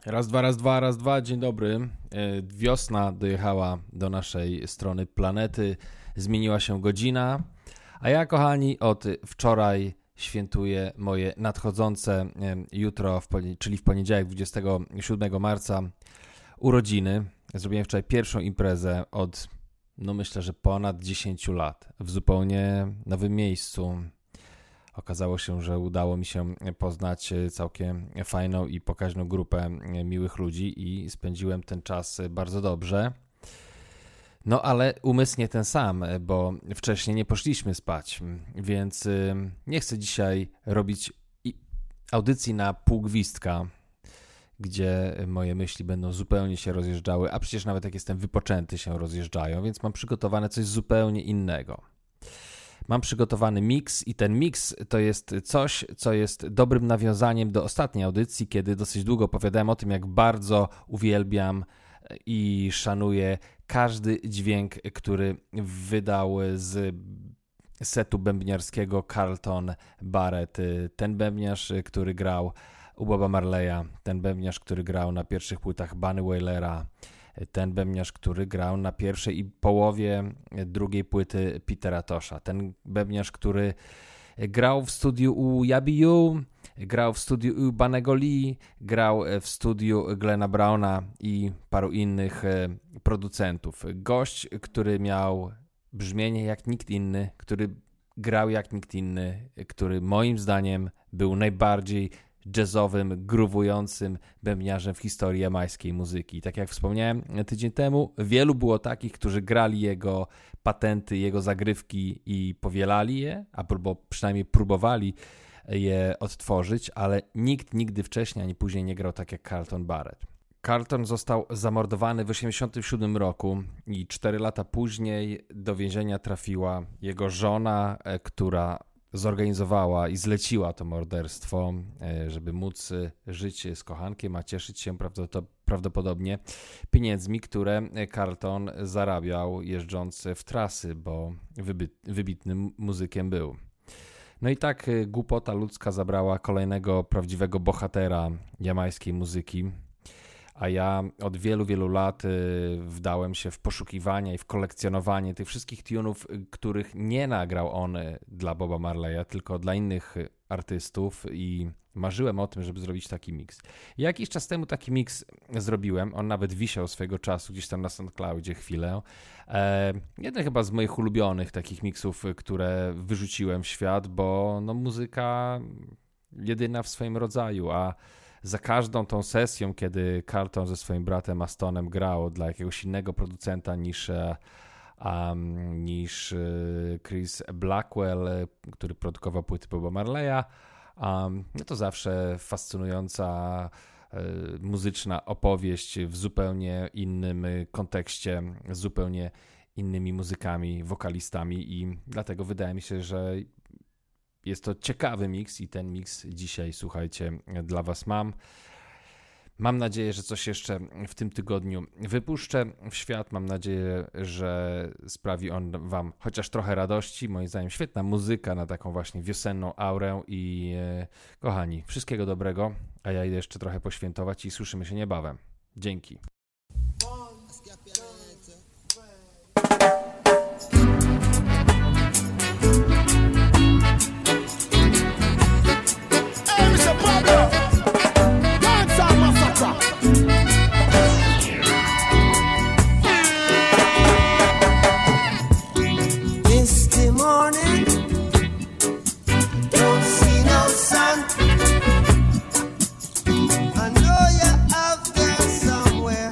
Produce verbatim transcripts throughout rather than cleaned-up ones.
Raz, dwa, raz, dwa, raz, dwa, dzień dobry. Wiosna dojechała do naszej strony planety, zmieniła się godzina, a ja, kochani, od wczoraj świętuję moje nadchodzące jutro, czyli w poniedziałek, dwudziestego siódmego marca, urodziny. Zrobiłem wczoraj pierwszą imprezę od, no myślę, że ponad dziesięciu lat, w zupełnie nowym miejscu. Okazało się, że udało mi się poznać całkiem fajną i pokaźną grupę miłych ludzi i spędziłem ten czas bardzo dobrze. No ale umysł nie ten sam, bo wcześniej nie poszliśmy spać, więc nie chcę dzisiaj robić audycji na pół gwizdka, gdzie moje myśli będą zupełnie się rozjeżdżały, a przecież nawet jak jestem wypoczęty się rozjeżdżają, więc mam przygotowane coś zupełnie innego. Mam przygotowany miks i ten miks to jest coś, co jest dobrym nawiązaniem do ostatniej audycji, kiedy dosyć długo opowiadałem o tym, jak bardzo uwielbiam i szanuję każdy dźwięk, który wydał z setu bębniarskiego Carlton Barrett. Ten bębniarz, który grał u Boba Marleya, ten bębniarz, który grał na pierwszych płytach Bunny Wailera, ten bębniarz, który grał na pierwszej i połowie drugiej płyty Petera Tosha, ten bębniarz, który grał w studiu u Yabi U, grał w studiu u Bunny'ego Lee, grał w studiu Glena Browna i paru innych producentów. Gość, który miał brzmienie jak nikt inny, który grał jak nikt inny, który moim zdaniem był najbardziej jazzowym, gruwującym bębniarzem w historii jamańskiej muzyki. I tak jak wspomniałem tydzień temu, wielu było takich, którzy grali jego patenty, jego zagrywki i powielali je, albo przynajmniej próbowali je odtworzyć, ale nikt nigdy wcześniej ani później nie grał tak jak Carlton Barrett. Carlton został zamordowany w tysiąc dziewięćset osiemdziesiątym siódmym roku i cztery lata później do więzienia trafiła jego żona, która zorganizowała i zleciła to morderstwo, żeby móc żyć z kochankiem, a cieszyć się prawdopodobnie pieniędzmi, które Carlton zarabiał jeżdżąc w trasy, bo wybitnym muzykiem był. No i tak głupota ludzka zabrała kolejnego prawdziwego bohatera jamańskiej muzyki, a ja od wielu, wielu lat wdałem się w poszukiwanie i w kolekcjonowanie tych wszystkich tunów, których nie nagrał on dla Boba Marleya, tylko dla innych artystów i marzyłem o tym, żeby zrobić taki miks. Jakiś czas temu taki miks zrobiłem, on nawet wisiał swego czasu gdzieś tam na SoundCloudzie chwilę. E, jeden chyba z moich ulubionych takich miksów, które wyrzuciłem w świat, bo no, muzyka jedyna w swoim rodzaju, a za każdą tą sesją, kiedy Carlton ze swoim bratem Astonem grał dla jakiegoś innego producenta niż, um, niż Chris Blackwell, który produkował płyty Boba Marleya, um, no to zawsze fascynująca um, muzyczna opowieść w zupełnie innym kontekście, z zupełnie innymi muzykami, wokalistami i dlatego wydaje mi się, że jest to ciekawy miks i ten miks dzisiaj, słuchajcie, dla was mam. Mam nadzieję, że coś jeszcze w tym tygodniu wypuszczę w świat. Mam nadzieję, że sprawi on wam chociaż trochę radości. Moim zdaniem świetna muzyka na taką właśnie wiosenną aurę i e, kochani, wszystkiego dobrego, a ja idę jeszcze trochę poświętować i słyszymy się niebawem. Dzięki. I know you're out there somewhere.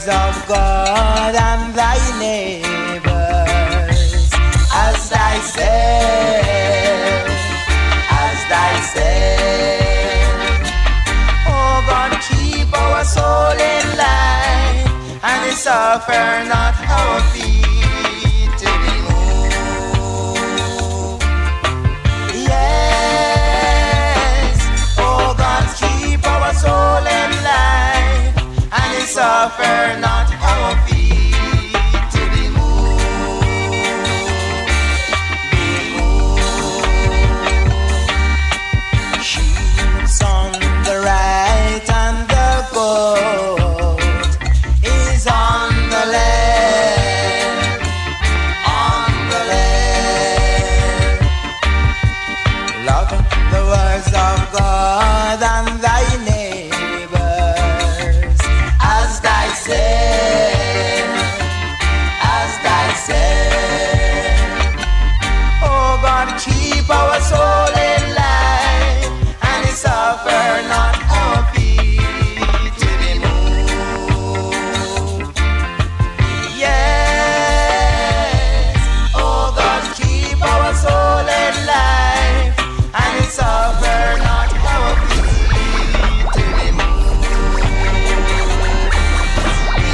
of God and thy neighbors as thyself, as thyself. Oh God, keep our soul in line and suffer not our feet to be moved. Yes, oh God, keep our soul in line and suffer not our feet to be moved. Be moved. Sheep's on the right and the goat is on the left, on the left. Love the words of God and thy neighbors as thyself, as thyself. Oh God, keep our soul in life and suffer not our feet to be moved. Yes, oh God, keep our soul in life and suffer not our feet to be moved. Be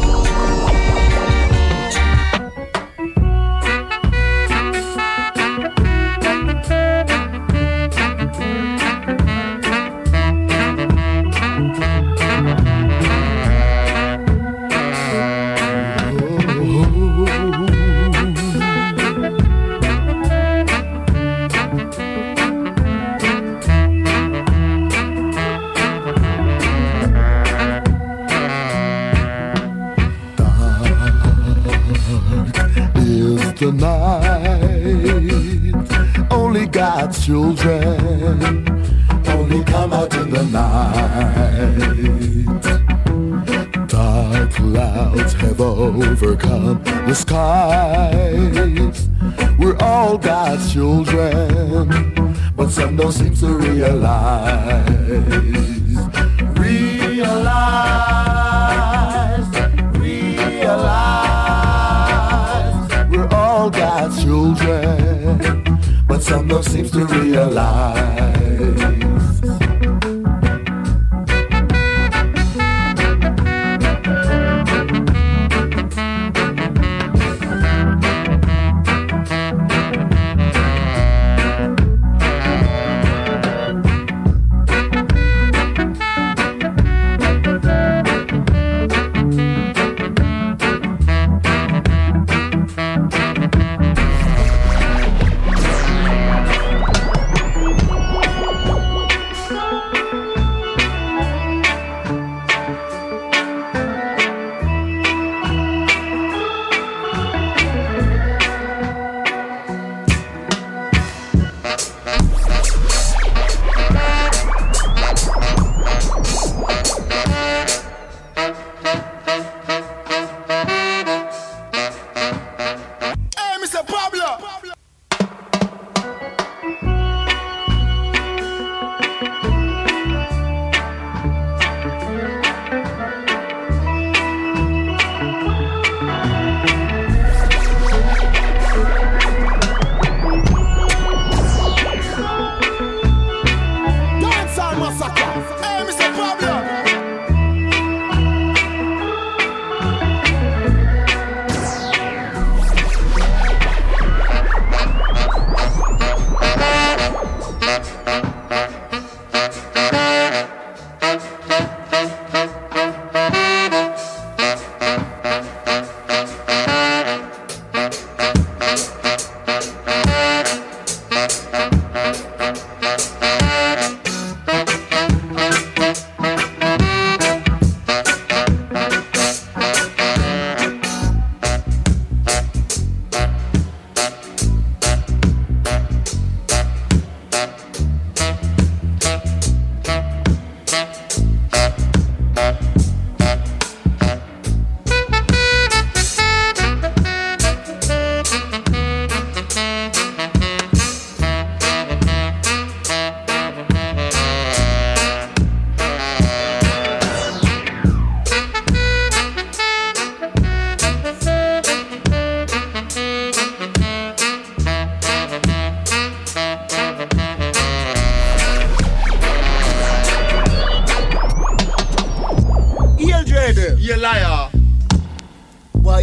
is the night. Only God's children only come out in the night. Dark clouds have overcome the skies. We're all God's children, but some don't seem to realize. Realize, realize. We're all God's children, but some don't seem to realize.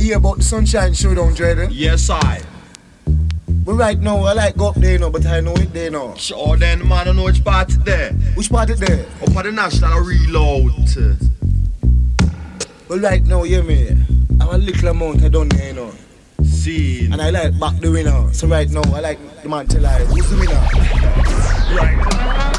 hear about the Sunshine Showdown, Dread? Yes, I. But right now, I like go up there, you know, but I know it there now. Sure, then, man, I know which part it there. Which part it there? Up at the National Reload. But right now, you hear me? I have a little amount I done there, you know. See. And I like back the winner. So right now, I like the man tell I, who's the winner? Right.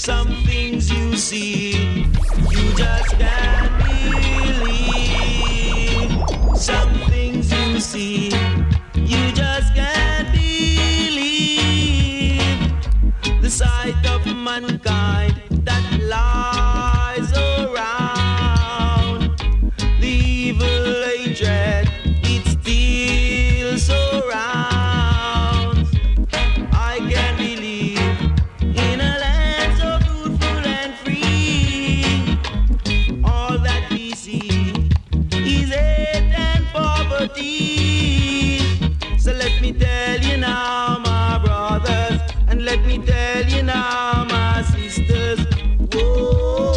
Some things you see, you just can't believe. Some things you see, you just can't believe. The sight of mankind that lies around, the evil hatred, it still surrounds. I can't believe in a land so beautiful and free. All that we see is hate and poverty. So let me tell you now, my brothers, and let me tell you now, my sisters. Whoa,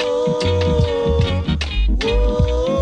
whoa,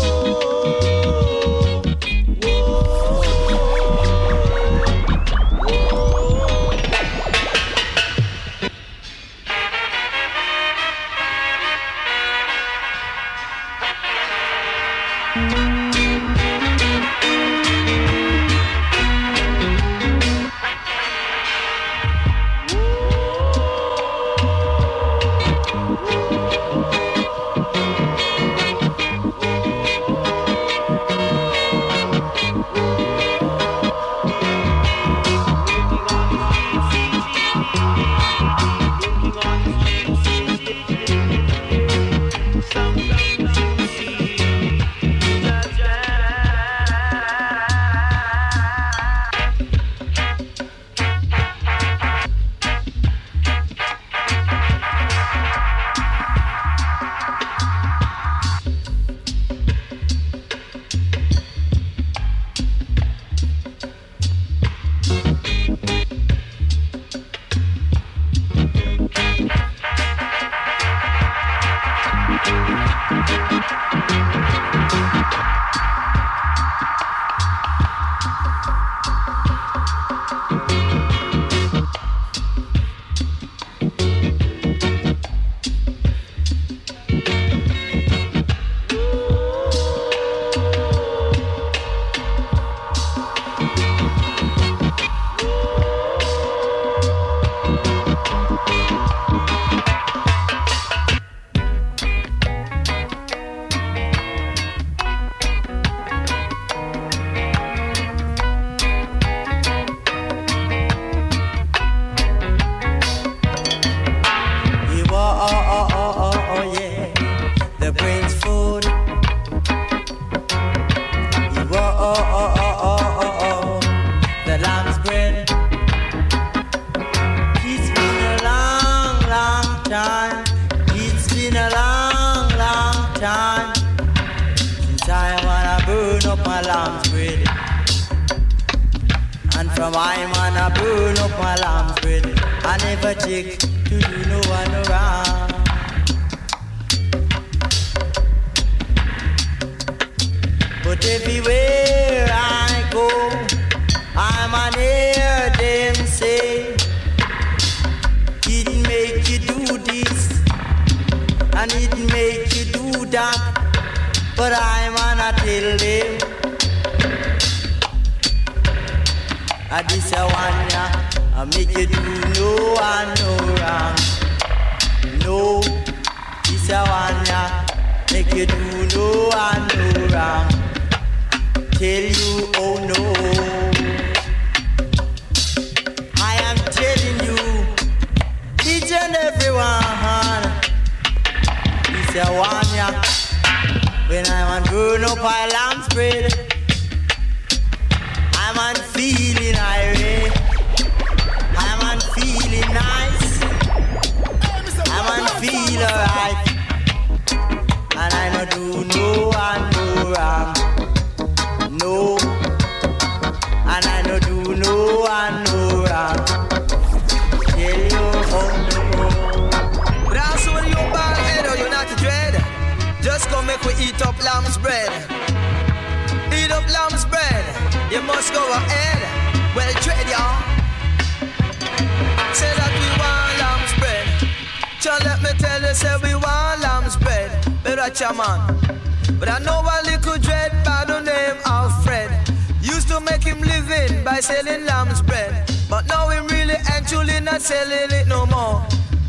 but I know a little dread by the name of Fred. Used to make him living by selling lamb's bread, but now him really and truly not selling it no more.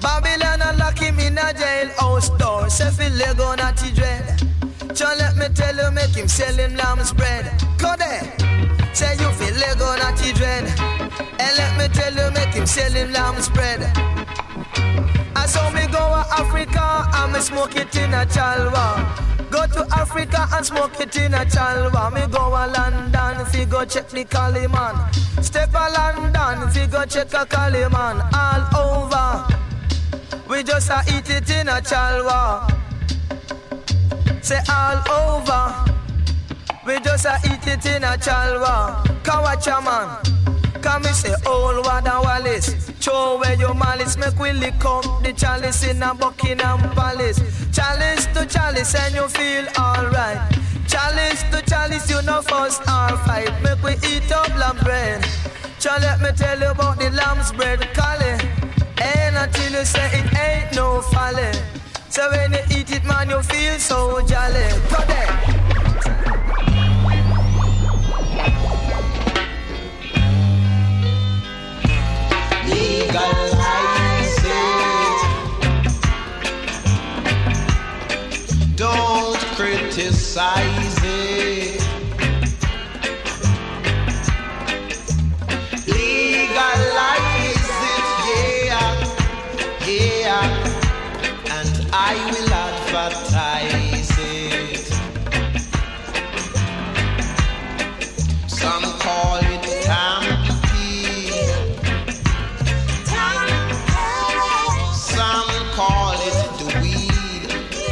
Babylon and lock him in a jailhouse door. Say fi leg on at the dread. So let me tell you, make him sell him lamb's bread. Go there. Say you fi leg on at the dread. And let me tell you, make him sell him lamb's bread. I saw me go to Africa and me smoke it in a chalwa. Go to Africa and smoke it in a chalwa. Me go to London fi go check the Caliman. Step to London fi go check a Caliman. All over, we just a eat it in a chalwa. Say all over, we just a eat it in a chalwa. Kawacha man, come me say old Wada Wallace. Show where your malice, make we lick up the chalice in a Buckingham Palace. Chalice to chalice and you feel alright. Chalice to chalice, you know first or fight. Make we eat up lamb bread. So let me tell you about the lamb's bread, Cali. Ain't until you say it ain't no folly. So when you eat it, man, you feel so jolly. Go there. Legalize it. Don't criticize it. Legalize it, yeah, yeah. And I will advertise it. Some call it tampy. Some call it the weed.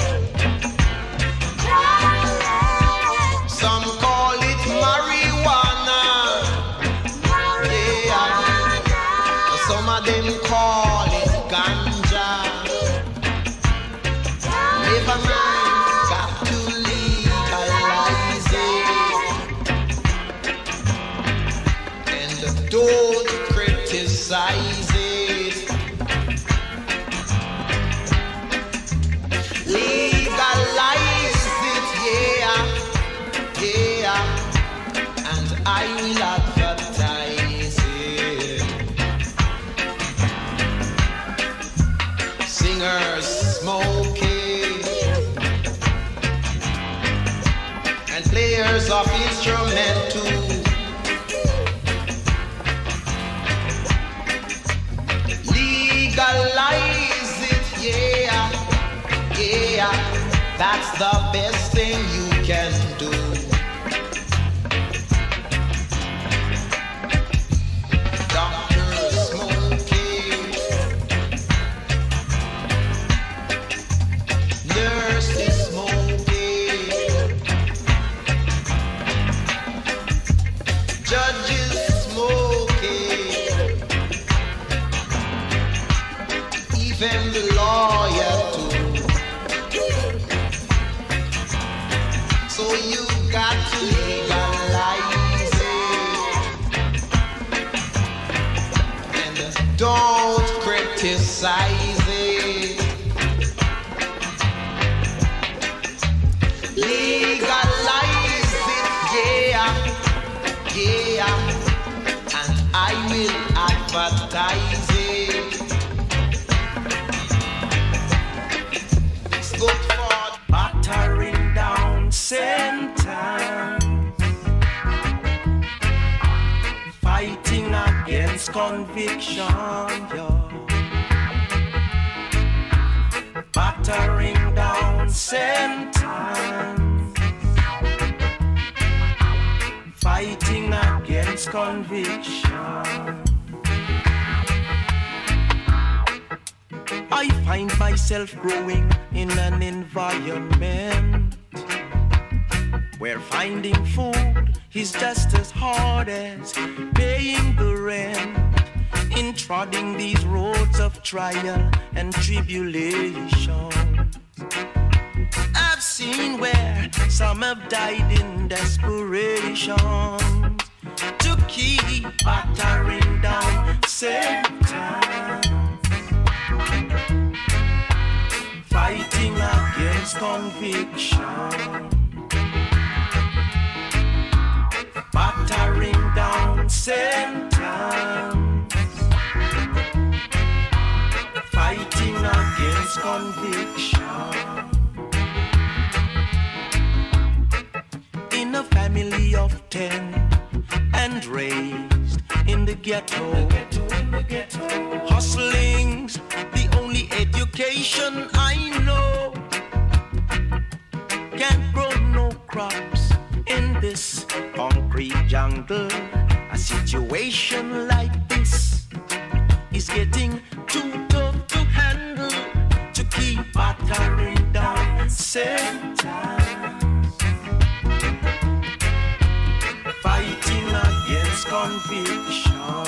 Some call it marijuana. Yeah. Some of them call it ganja. Never mind, got to legalize it. And don't criticize it. Legalize it, yeah, yeah, and I will advertise it. Singers smoking and players of instrumental. Legalize it, yeah. Yeah, that's the best thing you can do. Doctors smoking, nurses smoking, judges smoking, even the lawyer too. So you got to legalize it. And don't criticize it. Legalize it, yeah, yeah. And I will advertise it. It's good for battering down sentence, fighting against conviction, yo. Battering down sentence, fighting against conviction. I find myself growing in an environment where finding food is just as hard as paying the rent. In trotting these roads of trial and tribulation, I've seen where some have died in desperation to keep battering down Satan, fighting against conviction, battering down sentence, fighting ghetto. Hustling's the only education I know. Can't grow no crops in this concrete jungle. A situation like this is getting too tough to handle to keep battering down sentence. Fighting against conviction,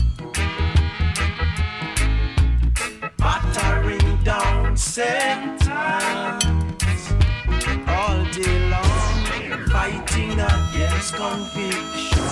battering down sentence all day long, fighting against conviction.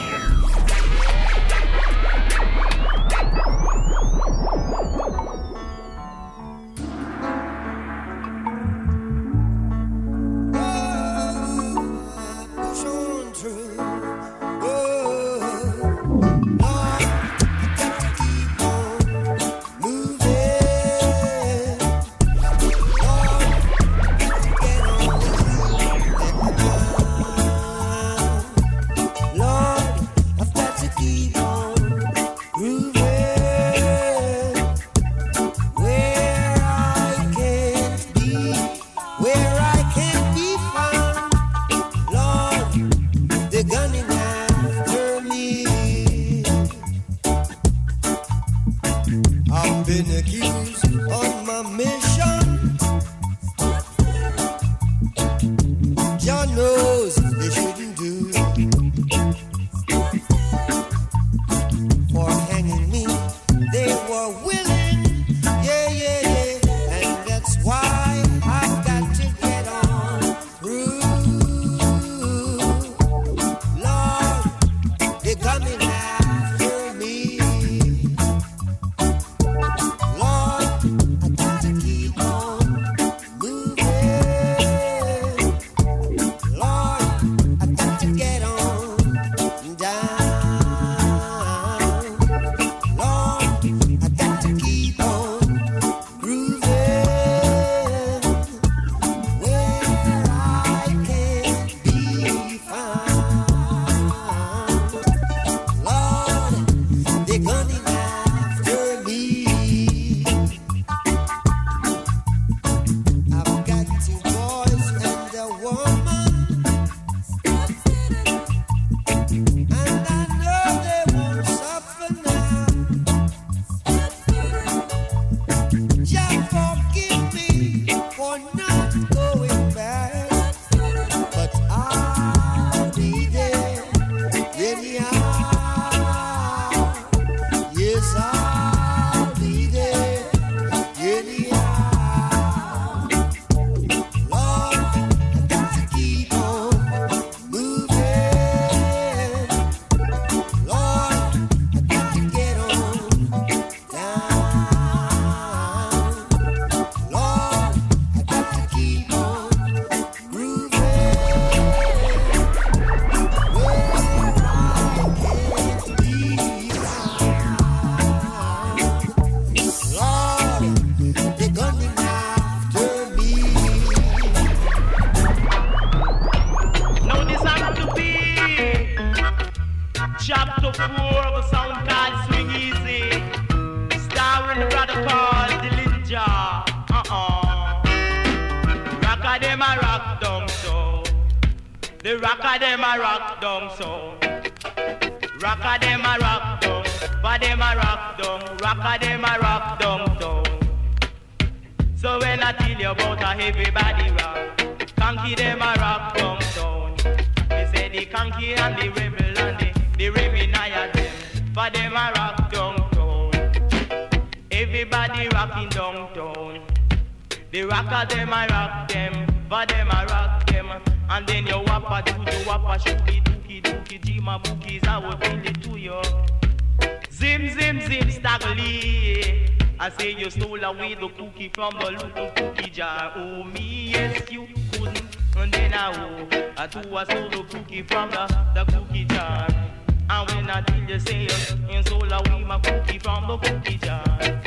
From the little cookie jar, oh me, yes you couldn't. And then I oh, I too I stole the cookie from the, the cookie jar. And when I tell you say, you stole away my cookie from the cookie jar.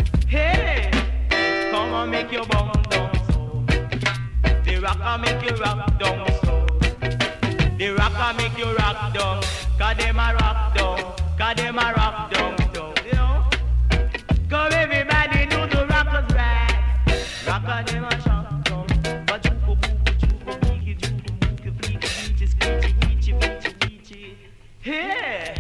Hey, come on, make your bum down so. The rocker make you rock down so. The rocker make you rock down, cause them a rock down. cause them a rock down, down, you know. Come everybody do the rockers right. Rocker them a shock down. But you go book, you go beaky, you go book, you beaky, beaky, screechy, beachy, beachy, beachy. Yeah.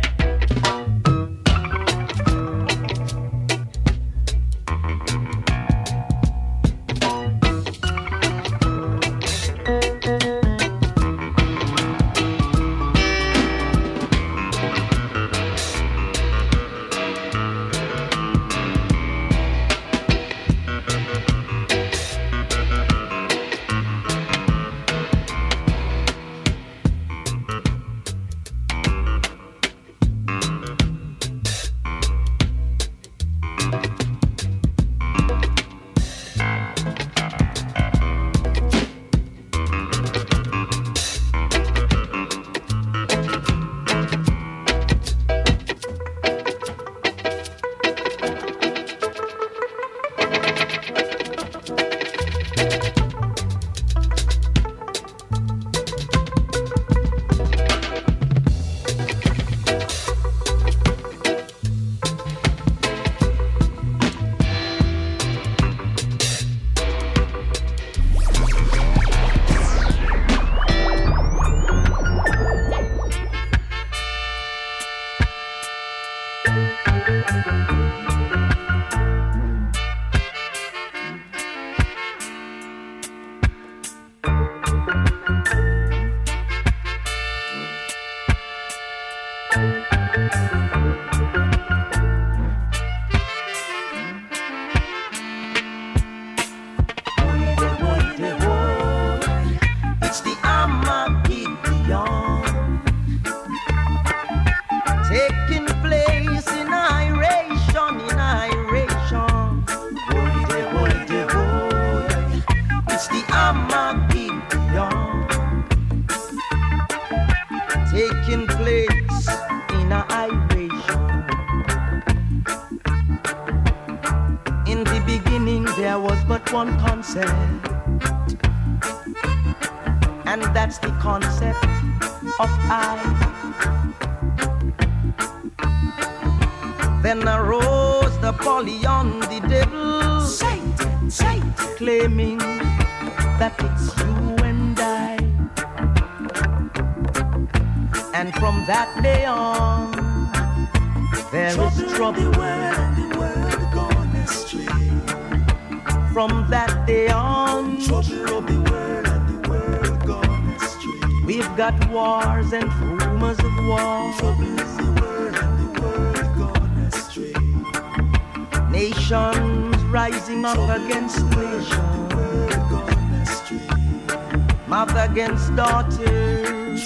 Against daughters,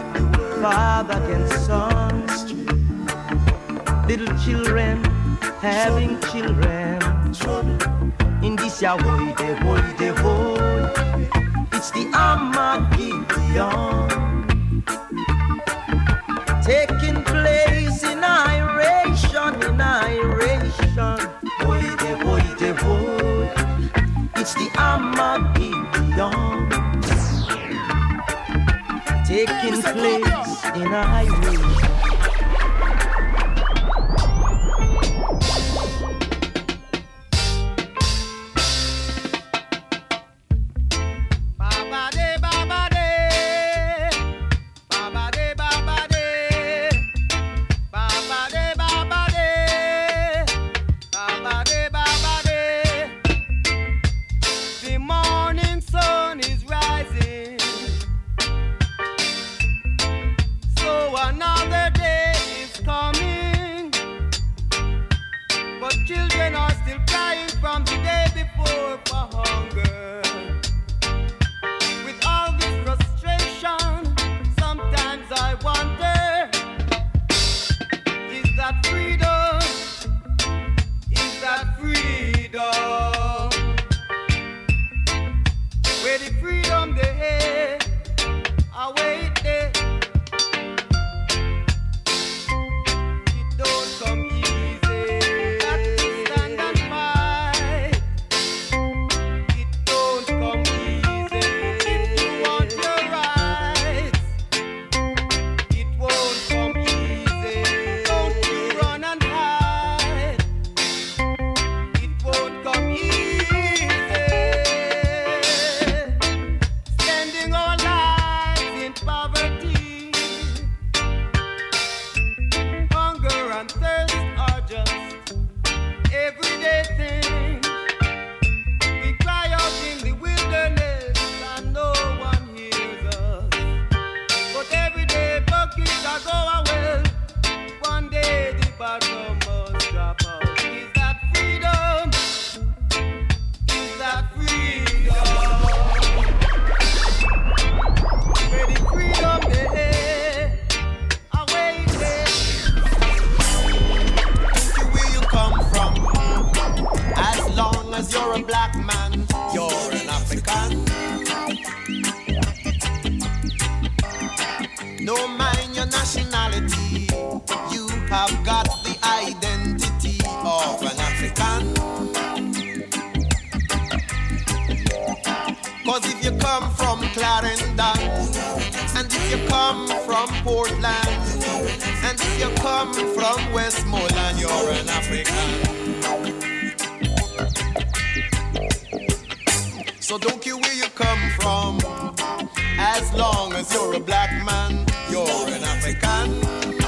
father against sons, little children having children. In this ya hoy de hoy de hoy, it's the Armageddon taking place in iration, in iration. Hoy de hoy de hoy, it's the Armageddon taking place in a highway. Don't if you come from Clarendon, and if you come from Portland, and if you come from Westmoreland, you're an African. So don't care where you come from, as long as you're a black man, you're an African.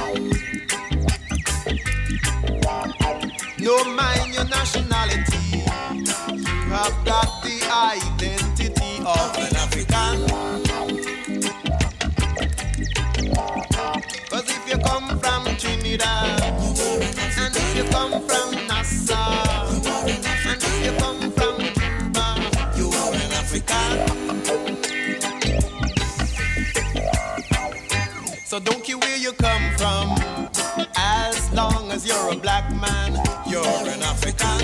No mind your nationality, you have got the identity of an African. Cause if you come from Trinidad, and if you come from Nassau, and if you come from Cuba, you are an African. So don't care where you come from, as long as you're a black man, you're an African.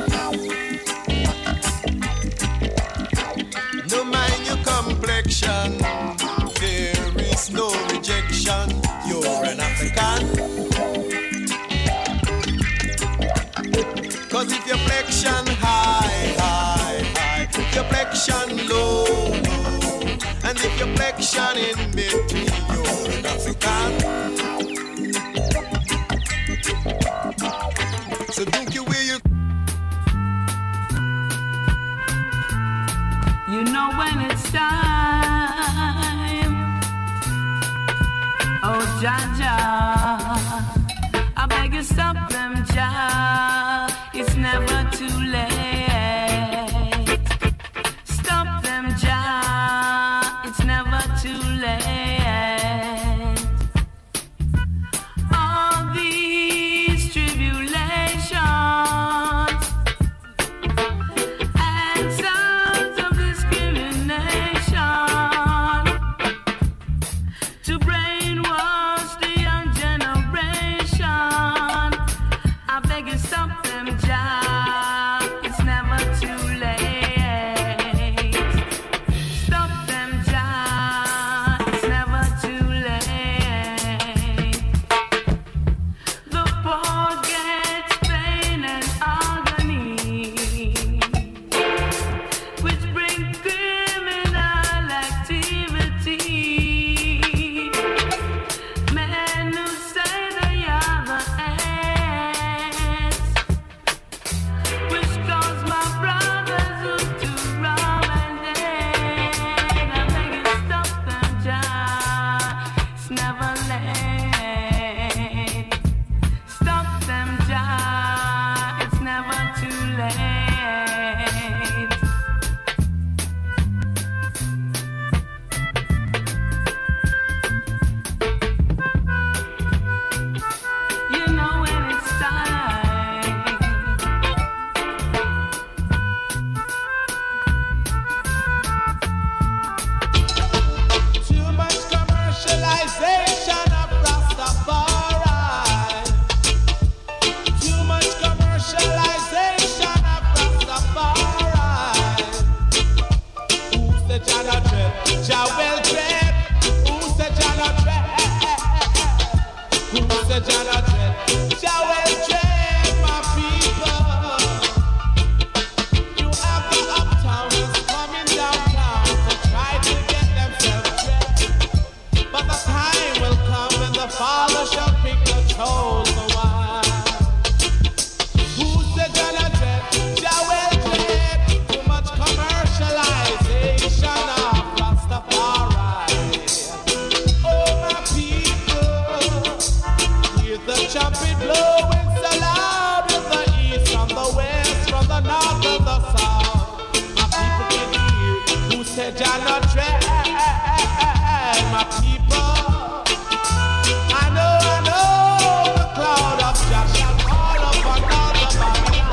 No mind your complexion, there is no rejection, you're an African. Cause if your flexion high, high, high, if your flexion low, low, and if your flexion in between, you're an African. So don't you where you You know when it's time. Oh, Jaja, I beg you stop them, Jah. It's never too late. Stop them, Jah. It's never too late. All these tribulations and sounds of discrimination to brainwash the young generation. I beg you stop them, Jah. It's never too late. Stop them, Jah. It's never too late. The poor gets pain and agony, which bring criminal activity. Men who say they are the ends, which cause my brothers who to rob and dead. I beg you stop them, Jah. It's never late. Stop them, Jah. It's never too late. You know when it's time. Too much commercialization of Rastafari. Too much commercialization of Rastafari. Who's the Jah not dread? Jah well dread. Who's the Jah not dread? Who's the Jah not dread? Jah well dread, my people. You have the uptowns coming downtown to try to get themselves dressed. But the time will come when the Father shall pick the chosen one. Who's the Jah not dread? Jah well dread. Too much commercialization of Rastafari. Oh, my people, hear the trumpet blowing so loud in the east, from the west, from the north and the south. My people can hear who said Jah not dread. My people, I know, I know the cloud of Jah shall fall upon all the Babylon.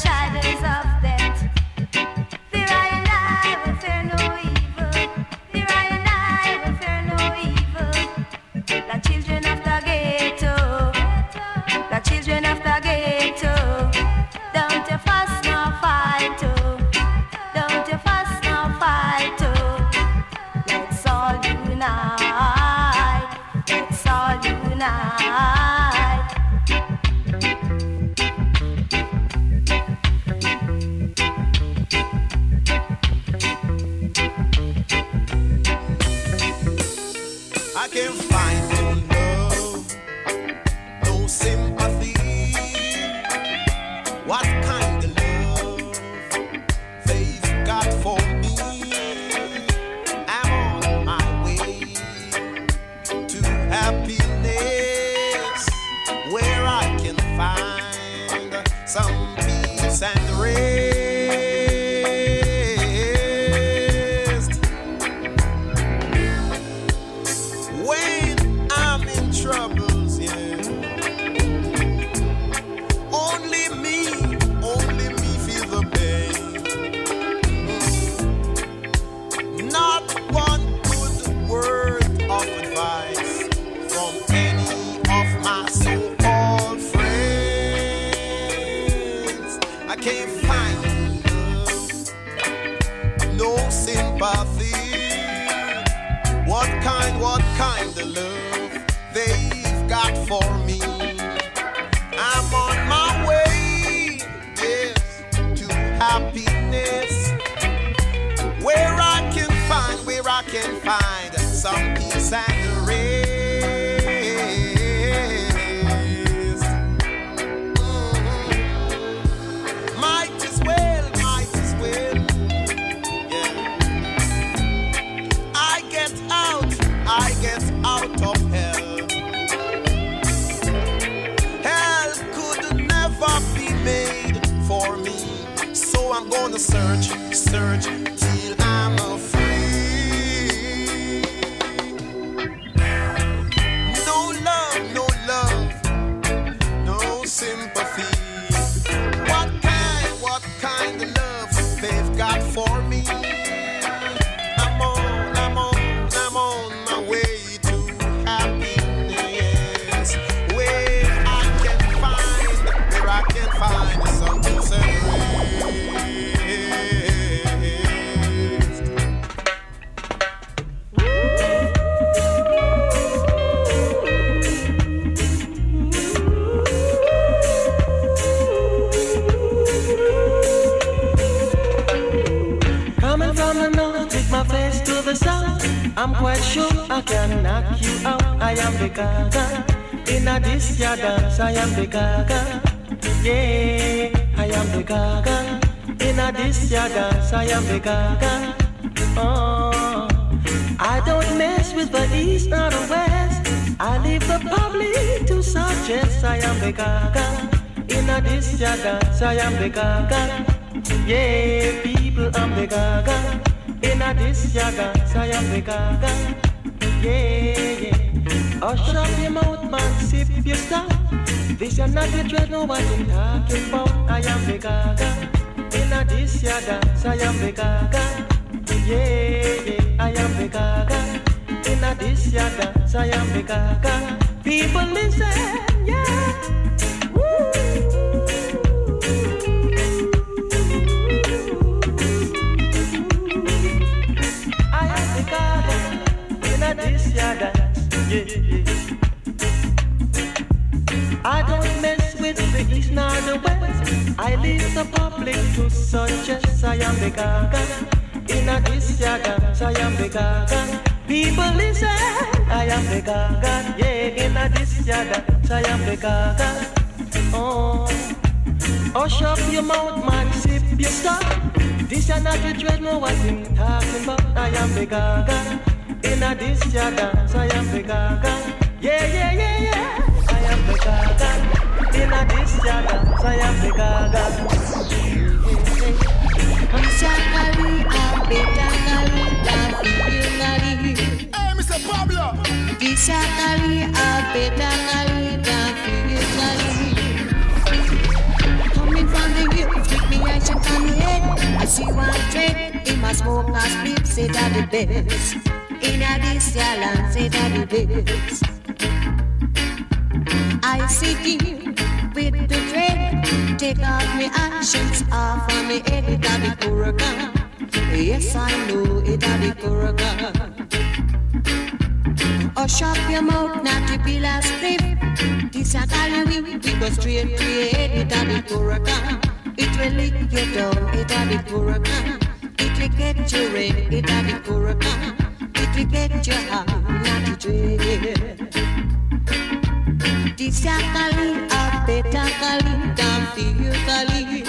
shadows of death. Fear I and I will fear no evil. Fear I and I will fear no evil. The children of the ghetto, the children of the ghetto. Don't you fuss nor fight, oh. Don't you fuss nor fight, oh. Let's all unite. Let's all unite. I can't find no love, no sympathy. What kind of love they've got for me? I'm on my way to happiness, where I can find some peace and rest. When I'm in troubles, yeah, only me, only me feel the pain. Not one good word of advice from any of my so-called friends. I can't find love, no sympathy. What kind, what kind of love they've got for me? I'm on my way, yes, to happiness, where I can find, where I can find some peace and rest. Mhm. Might as well, might as well, yeah. I get out, I get out of hell. Hell could never be made for me, so I'm gonna search, search till I'm free. No love, no love, no sympathy. What kind, what kind of love they've got for me? I'm on, I'm on, I'm on my way to happiness, where I can find, where I can find some peace and rest. Coming from the north with my face to the south, I'm quite sure I can knock you out. I am the gaga. In a this ya dance, I am the gaga. Yeah, I am the gaga. In a this ya dance, I am the gaga. Oh, I don't mess with the east or the west. I leave the public to suggest I am the gaga. In a this ya dance, I am the gaga. Yeah, people, I'm the gaga. In a this ya dance, I am the gaga. Yeah, yeah. Hush up your mouth, man, sip your stuff. This is not the dread, no what I'm talking about. I am the gaga. In a this ya dance, I am the gaga. Yeah, yeah, I am the gaga. In a this ya dance, I am the gaga. People listen, yeah. Woo. I am the gaga. In a this ya dance, yeah, yeah. I don't mess with the east nor the west. I leave the public to suggest I am the gaga. In a this ya dance, I am the gaga. People listen, I am the gaga. Yeah, in a this ya dance, I am the gaga. Oh, hush up your mouth, man, sip your stuff. This is not the dread, no what I'm talking about. I am the gaga. In a this ya dance, I am the gaga. Yeah, yeah, yeah, yeah. I am the gaga. In a this ya dance, I am the gaga. I'm sorry, I'm Hey, Mister Pablo. Visakali abetangali da fingali. Coming from the youth with see one trade, he must smoke and sleep, say that the best. In a this land, say that the best. I sit here with the dread, take out my actions off on me head, it a the Korakan. Yes, I know it a the Korakan. Oh, shut your mouth, not to be last clip. This a Galilee, we go straight to your head, it a the Korakan. It will lick you down, it a the Korakan. It will get you red, it a the Korakan. It will get you high, not to dread. This a Kali, a better Kali, than feel Kali.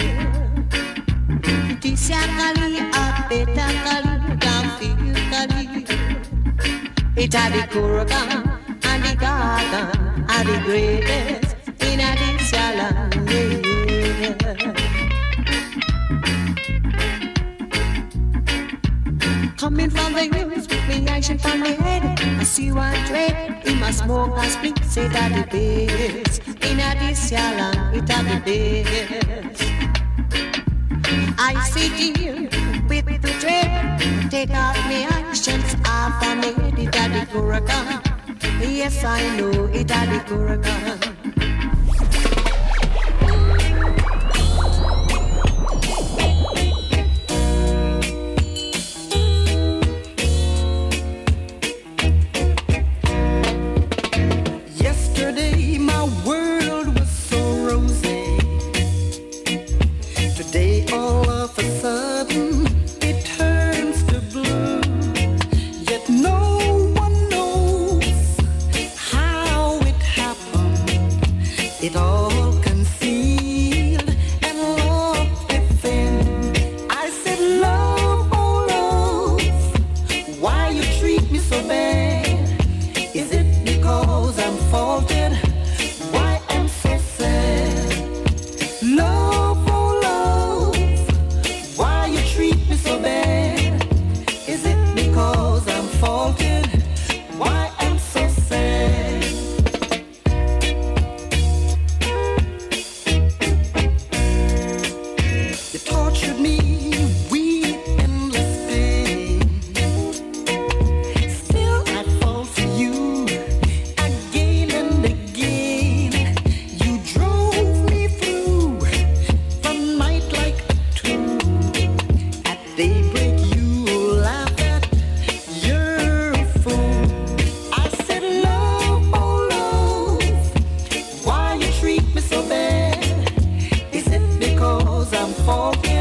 This a Kali, a better Kali, than feel Kali. It a the Korakan, and the garden, are the greatest in a this land, yeah. Coming from the hills with me action from the head, I see one trade, he must smoke and split, say that the best. In a this land, it a the best. I sit here with the trade, take out my actions off on me head, it a the Korakan. Yes, I know it a the Korakan. Treat me so bad. Is it because I'm falling?